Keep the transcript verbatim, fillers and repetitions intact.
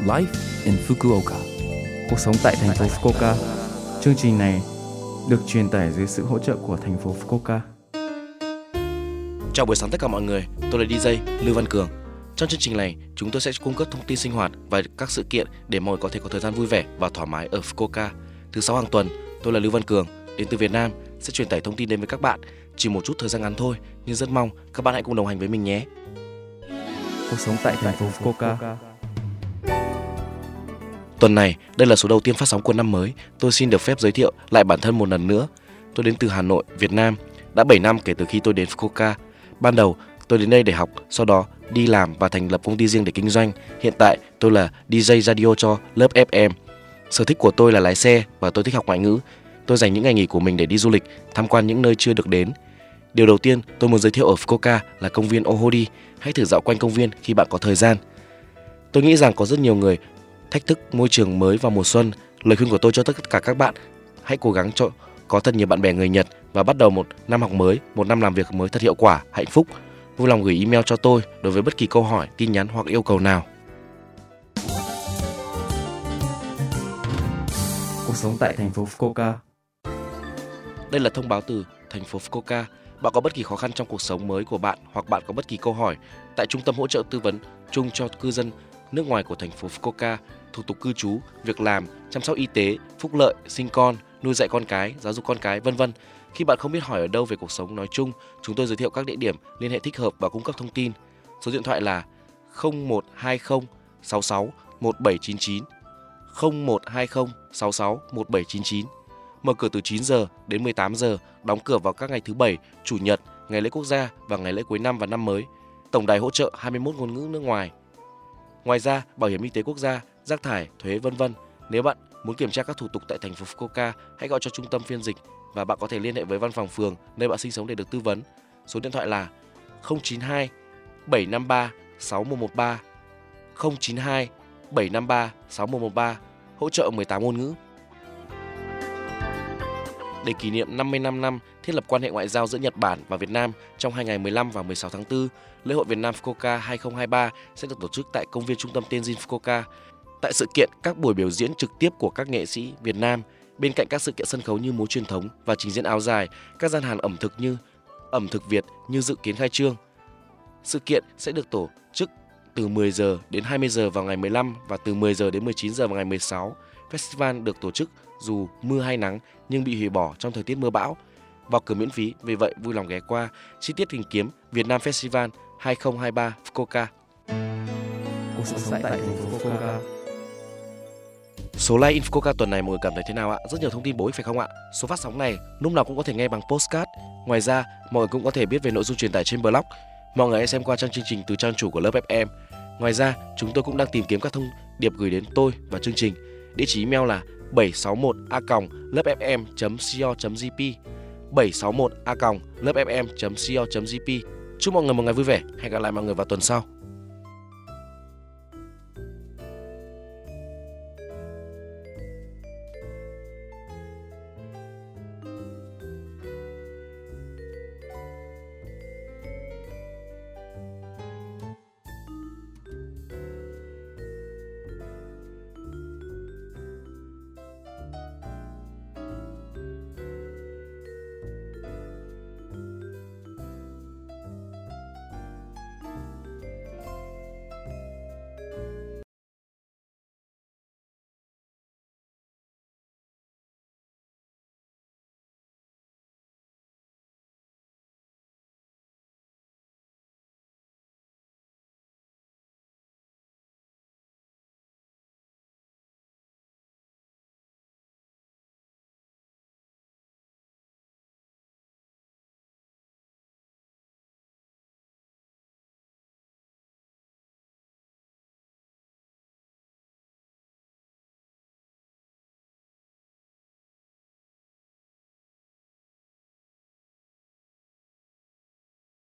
Life in Fukuoka. Cuộc sống tại thành phố Fukuoka. Chương trình này được truyền tải dưới sự hỗ trợ của thành phố Fukuoka. Chào buổi sáng tất cả mọi người, tôi là đi jay Lưu Văn Cường. Trong chương trình này, chúng tôi sẽ cung cấp thông tin sinh hoạt và các sự kiện để mọi người có thể có thời gian vui vẻ và thoải mái ở Fukuoka. Thứ sáu hàng tuần, tôi là Lưu Văn Cường, đến từ Việt Nam, sẽ truyền tải thông tin đến với các bạn. Chỉ một chút thời gian ngắn thôi, nhưng rất mong các bạn hãy cùng đồng hành với mình nhé. Cuộc sống tại thành phố Fukuoka. Tuần này, đây là số đầu tiên phát sóng của năm mới. Tôi xin được phép giới thiệu lại bản thân một lần nữa. Tôi đến từ Hà Nội, Việt Nam. Đã bảy năm kể từ khi tôi đến Fukuoka. Ban đầu, tôi đến đây để học, sau đó đi làm và thành lập công ty riêng để kinh doanh. Hiện tại, tôi là đi jay radio cho lớp ép em. Sở thích của tôi là lái xe và tôi thích học ngoại ngữ. Tôi dành những ngày nghỉ của mình để đi du lịch, tham quan những nơi chưa được đến. Điều đầu tiên tôi muốn giới thiệu ở Fukuoka là công viên Ohori. Hãy thử dạo quanh công viên khi bạn có thời gian. Tôi nghĩ rằng có rất nhiều người thách thức môi trường mới vào mùa xuân. Lời khuyên của tôi cho tất cả các bạn: hãy cố gắng cho có thật nhiều bạn bè người Nhật và bắt đầu một năm học mới, một năm làm việc mới thật hiệu quả, hạnh phúc. Vui lòng gửi email cho tôi đối với bất kỳ câu hỏi, tin nhắn hoặc yêu cầu nào. Cuộc sống tại thành phố Fukuoka. Đây là thông báo từ thành phố Fukuoka. Bạn có bất kỳ khó khăn trong cuộc sống mới của bạn hoặc bạn có bất kỳ câu hỏi, tại Trung tâm hỗ trợ tư vấn chung cho cư dân nước ngoài của thành phố Fukuoka, thủ tục cư trú, việc làm, chăm sóc y tế, phúc lợi, sinh con, nuôi dạy con cái, giáo dục con cái, vân vân. Khi bạn không biết hỏi ở đâu về cuộc sống nói chung, chúng tôi giới thiệu các địa điểm, liên hệ thích hợp và cung cấp thông tin. Số điện thoại là không một hai không sáu sáu một bảy chín chín, không một hai không sáu sáu một bảy chín chín. Mở cửa từ chín giờ đến mười tám giờ, đóng cửa vào các ngày thứ Bảy, Chủ nhật, ngày lễ quốc gia và ngày lễ cuối năm và năm mới. Tổng đài hỗ trợ hai mươi mốt ngôn ngữ nước ngoài. Ngoài ra, bảo hiểm y tế quốc gia, rác thải, thuế vân vân. Nếu bạn muốn kiểm tra các thủ tục tại thành phố Fukuoka, hãy gọi cho trung tâm phiên dịch và bạn có thể liên hệ với văn phòng phường nơi bạn sinh sống để được tư vấn. Số điện thoại là không chín hai bảy năm ba sáu một một ba, không chín hai bảy năm ba sáu một một ba, hỗ trợ mười tám ngôn ngữ. Để kỷ niệm năm mươi lăm năm thiết lập quan hệ ngoại giao giữa Nhật Bản và Việt Nam trong hai ngày mười lăm và mười sáu tháng tư, lễ hội Việt Nam Fukuoka hai không hai ba sẽ được tổ chức tại công viên trung tâm Tenjin Fukuoka. Tại sự kiện, các buổi biểu diễn trực tiếp của các nghệ sĩ Việt Nam, bên cạnh các sự kiện sân khấu như múa truyền thống và trình diễn áo dài, các gian hàng ẩm thực như ẩm thực Việt như dự kiến khai trương. Sự kiện sẽ được tổ chức từ mười giờ đến hai mươi giờ vào ngày mười lăm và từ mười giờ đến mười chín giờ vào ngày mười sáu. Festival được tổ chức dù mưa hay nắng nhưng bị hủy bỏ trong thời tiết mưa bão. Vào cửa miễn phí, vì vậy vui lòng ghé qua. Chi tiết tìm kiếm Việt Nam Festival hai không hai ba Fukuoka. Cuộc sống tại thành phố Fukuoka. Số like in Fukuoka tuần này mọi người cảm thấy thế nào ạ? Rất nhiều thông tin bổ ích phải không ạ? Số phát sóng này lúc nào cũng có thể nghe bằng postcard. Ngoài ra, mọi người cũng có thể biết về nội dung truyền tải trên blog. Mọi người hãy xem qua trang chương trình từ trang chủ của lớp ép em. Ngoài ra, chúng tôi cũng đang tìm kiếm các thông điệp gửi đến tôi và chương trình. Địa chỉ email là bảy sáu một a còng lớp ép em chấm co chấm jp, bảy sáu một a còng lớp ép em chấm co chấm jp. Chúc mọi người một ngày vui vẻ. Hẹn gặp lại mọi người vào tuần sau.